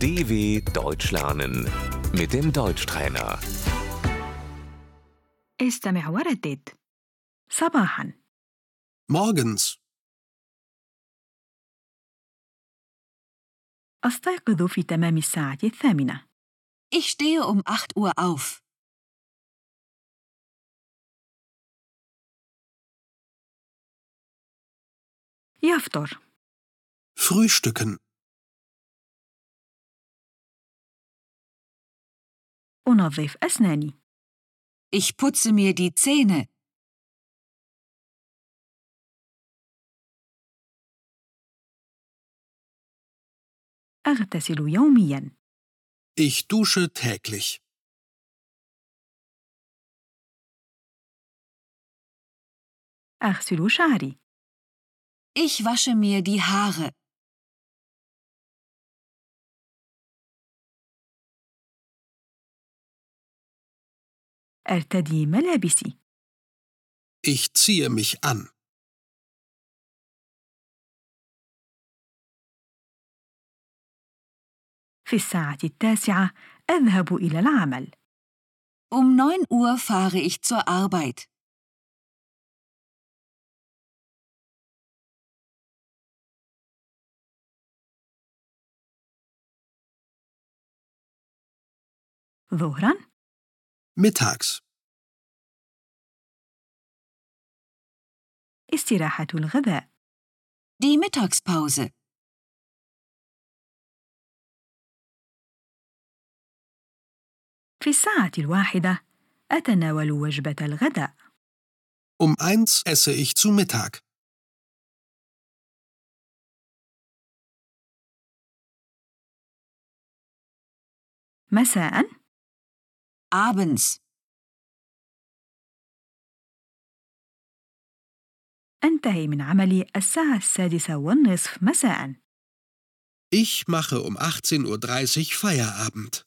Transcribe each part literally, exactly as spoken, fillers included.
D W Deutsch lernen mit dem Deutschtrainer. استمع وردد. صباحا. Morgens. أستيقظ في تمام الساعة الثامنة. Ich stehe um acht Uhr auf. يفطر. Frühstücken. أنظف أسناني. Ich putze mir die Zähne. أغتسل يومياً. Ich dusche täglich. أغسل شعري. Ich wasche mir die Haare. أرتدي ملابسي. Ich ziehe mich an. في الساعة التاسعة أذهب إلى العمل. Um neun Uhr fahre ich zur Arbeit. ظهراً. Mittags. استراحة الغذاء. Die Mittagspause. في الساعة الواحدة أتناول وجبة الغداء. Um eins esse ich zu Mittag. مساءً. Abends. أنتهي من عملي الساعة السادسة والنصف مساءً. Ich mache um achtzehn Uhr dreißig Feierabend.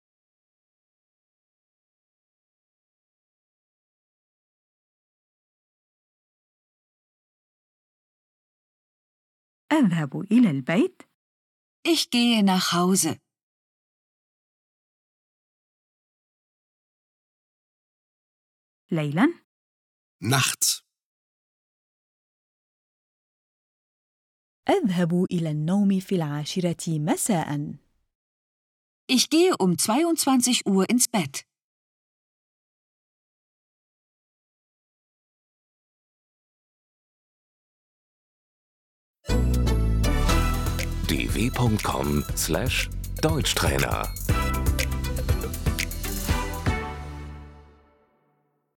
أذهب إلى البيت. Ich gehe nach Hause. ليلاً. Nachts. أذهب إلى النوم في العاشرة مساءً. Ich gehe um zweiundzwanzig Uhr ins Bett. d w punkt com slash Deutschtrainer